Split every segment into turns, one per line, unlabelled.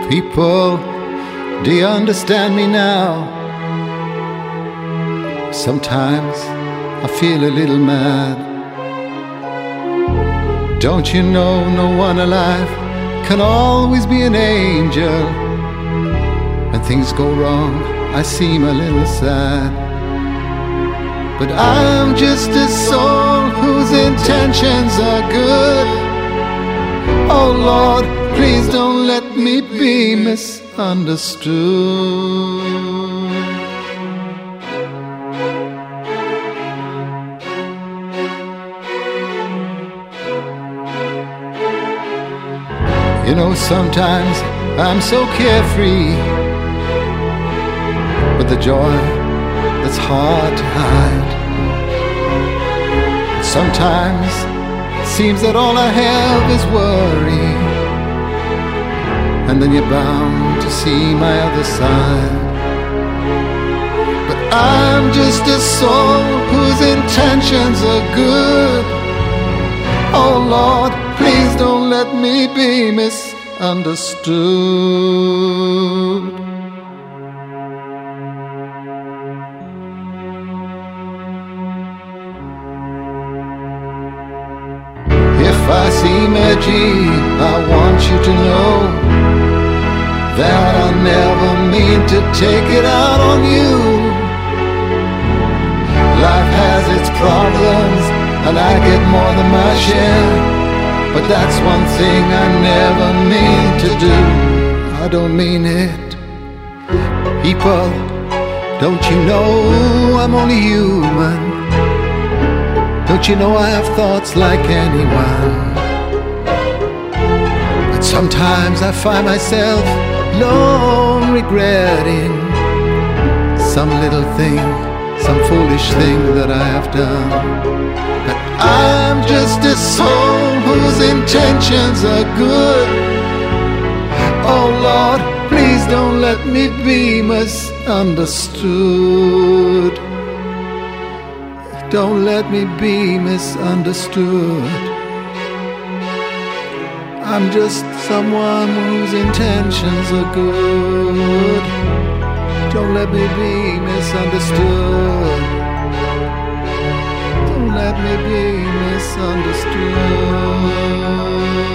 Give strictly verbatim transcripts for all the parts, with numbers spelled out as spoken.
People, do you understand me now? Sometimes I feel a little mad. Don't you know no one alive can always be an angel? When things go wrong, I seem a little sad. But I'm just a soul whose intentions are good. Oh Lord, please don't let me be misunderstood. You know, sometimes I'm so carefree with the joy that's hard to hide. Sometimes it seems that all I have is worry, and then you're bound to see my other side. But I'm just a soul whose intentions are good. Oh Lord, please don't let me be misunderstood. If I seem edgy, I want you to know that I never mean to take it out on you. Life has its problems, and I get more than my share. But that's one thing I never mean to do. I don't mean it. People, don't you know I'm only human? Don't you know I have thoughts like anyone? But sometimes I find myself long regretting some little thing, some foolish thing that I have done. But I'm just a soul whose intentions are good. Oh Lord, please don't let me be misunderstood. Don't let me be misunderstood. I'm just someone whose intentions are good. Don't let me be misunderstood. Don't let me be misunderstood.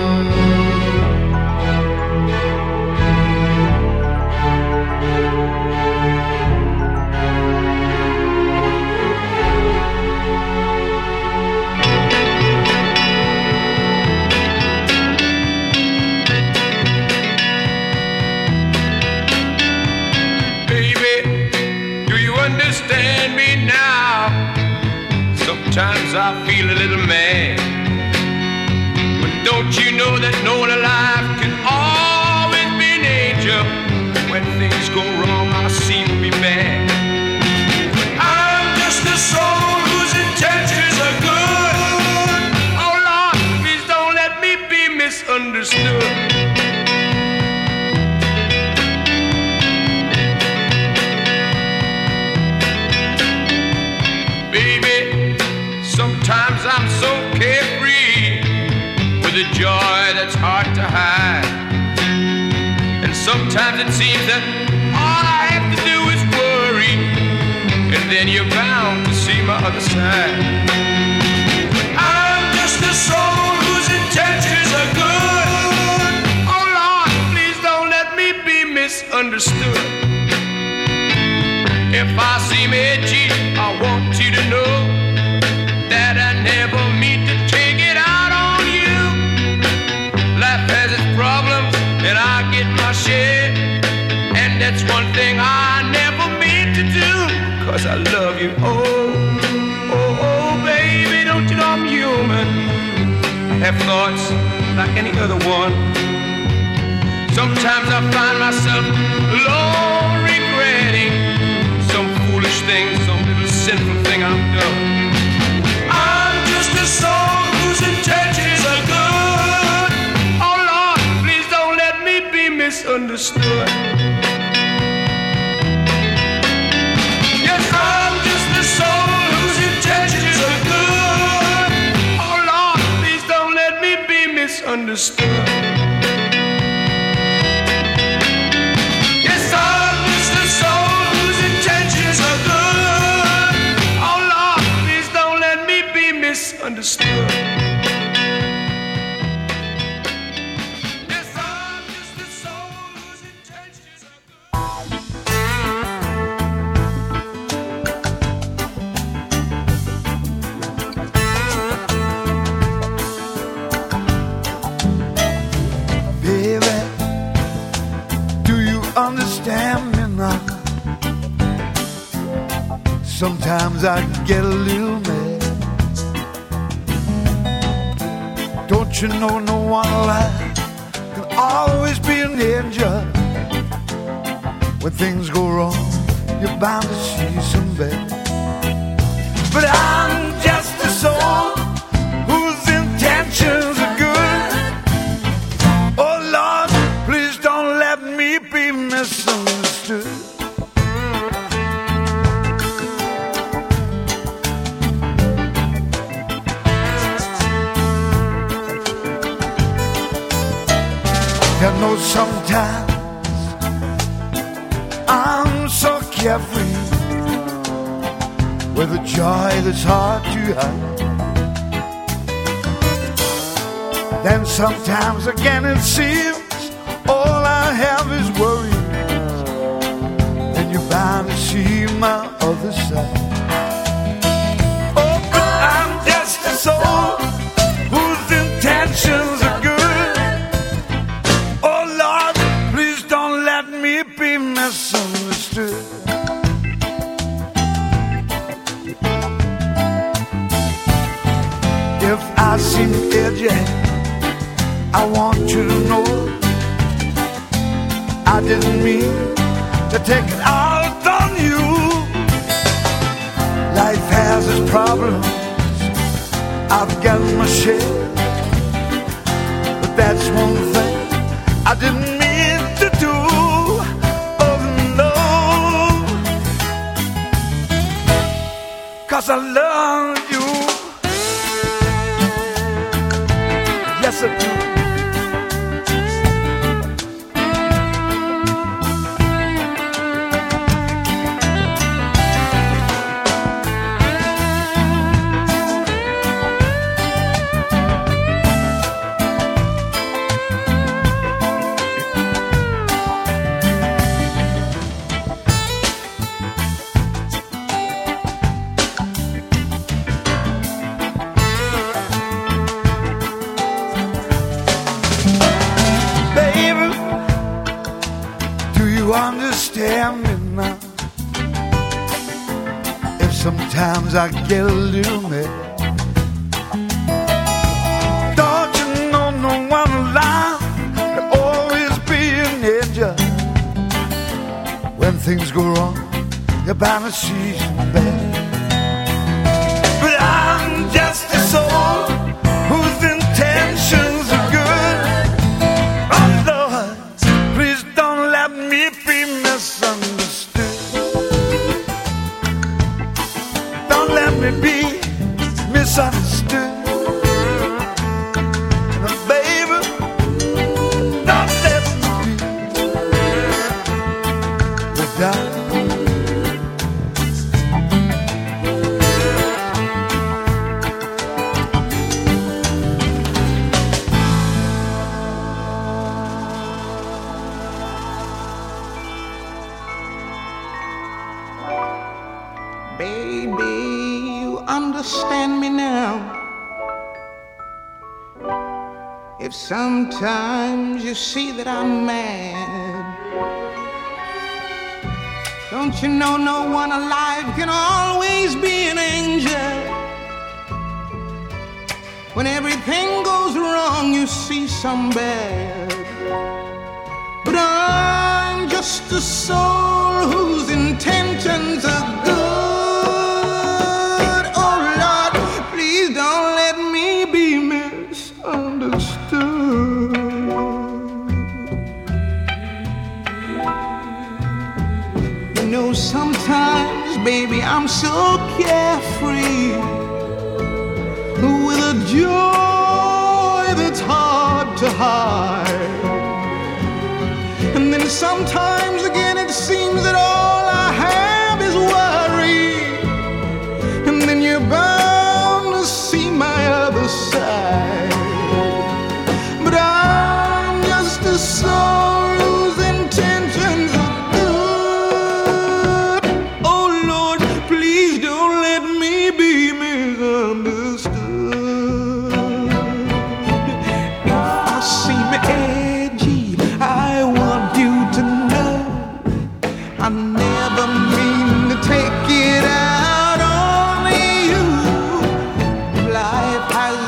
Sometimes I feel a little mad, but don't you know that no one alive can always be an angel? When things go wrong, I seem to be bad. But I'm just a soul whose intentions are good. Oh Lord, please don't let me be misunderstood. Sometimes I'm so carefree with a joy that's hard to hide. And sometimes it seems that all I have to do is worry, and then you're bound to see my other side. I'm just a soul whose intentions are good. Oh Lord, please don't let me be misunderstood. If I seem edgy, I want you to know that I never mean to take it out on you. Life has its problems, and I get my share. And that's one thing I never mean to do, 'cause I love you. Oh, oh, oh, baby, don't you know I'm human? I have thoughts like any other one. Sometimes I find myself alone regretting some foolish thing, some little sinful thing I've done. A soul whose intentions are good. Oh Lord, please don't let me be misunderstood. Yes, I'm just a soul whose intentions are good. Oh Lord, please don't let me be misunderstood. misunderstood.
Sometimes I get a little mad. Don't you know no one alive can always be an angel? When things go wrong, you're bound to see some bad. But I'm just a soul whose intentions are good. Oh Lord, please don't let me be misunderstood. I know sometimes I'm so carefree with a joy that's hard to hide. Then sometimes again it seems all I have is worries, and you're bound to see my other side. Oh, but I'm just a soul whose intentions are good. Be misunderstood. If I seem edgy, I want you to know I didn't mean to take it out on you. Life has its problems, I've got my share, but that's one thing I didn't mean to do. Cause I love you. Yes, I do. Understand me now. If sometimes I get a little mad, don't you know no one alive can always be an angel. When things go wrong, you're bound to see some bad. But I'm just a soul whose intentions are good. Oh Lord, please don't let me be misunderstood. Don't let me be misunderstood. And baby, don't let me be without.
Understand me now. If sometimes you see that I'm mad, don't you know no one alive can always be an angel. When everything goes wrong, you see some bad. But I'm just a soul whose intentions are good. Sometimes, baby, I'm so carefree with a joy that's hard to hide. And then sometimes again it seems that all I have is worry. And then you're bound to see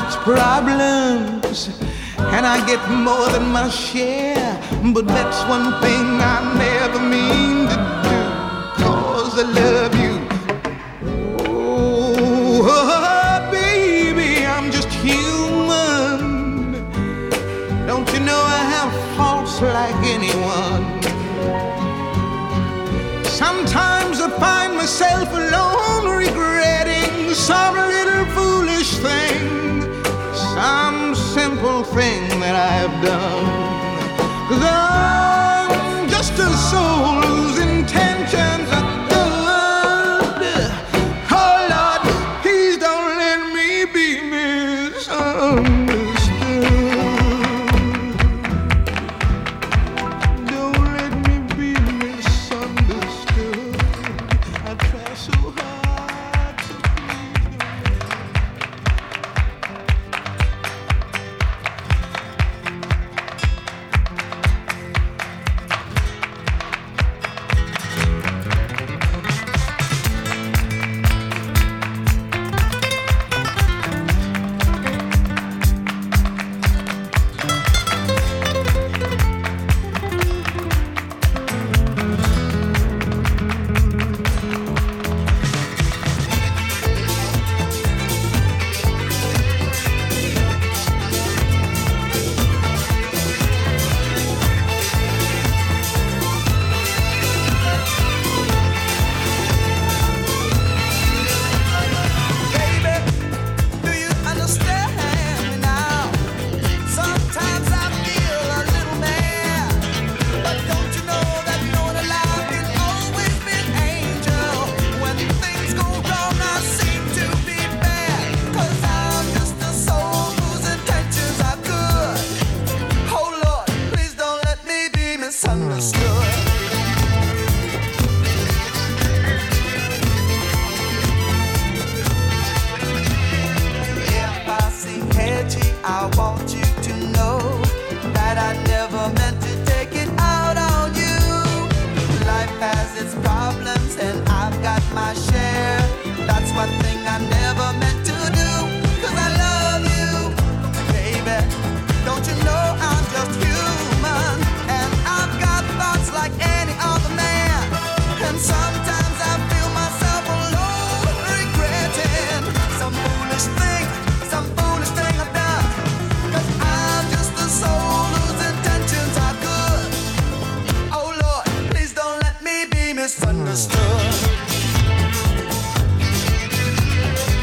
its problems, and I get more than my share. But that's one thing I never mean to do, 'cause I love you. Oh, baby, I'm just human. Don't you know I have faults like anyone? Sometimes I find myself alone, regretting some little foolish thing, some simple thing that I've done. 'Cause I'm just a soul whose intentions are good. Oh Lord, please don't let me be misunderstood. Don't let me be misunderstood. I try so hard to please you.
Misunderstood.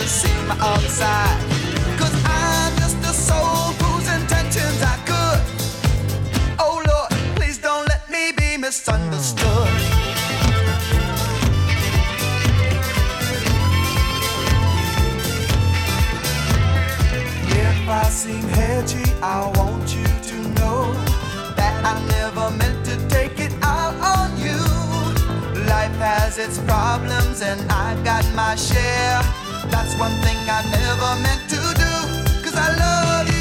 to see my other side. Cause I'm just a soul whose intentions I could. Oh Lord, please don't let me be misunderstood. If I seem hedgy, I want you to know that I never meant to take it out on you. Life has its problems and I've got my share. That's one thing I never meant to do. Cause I love you.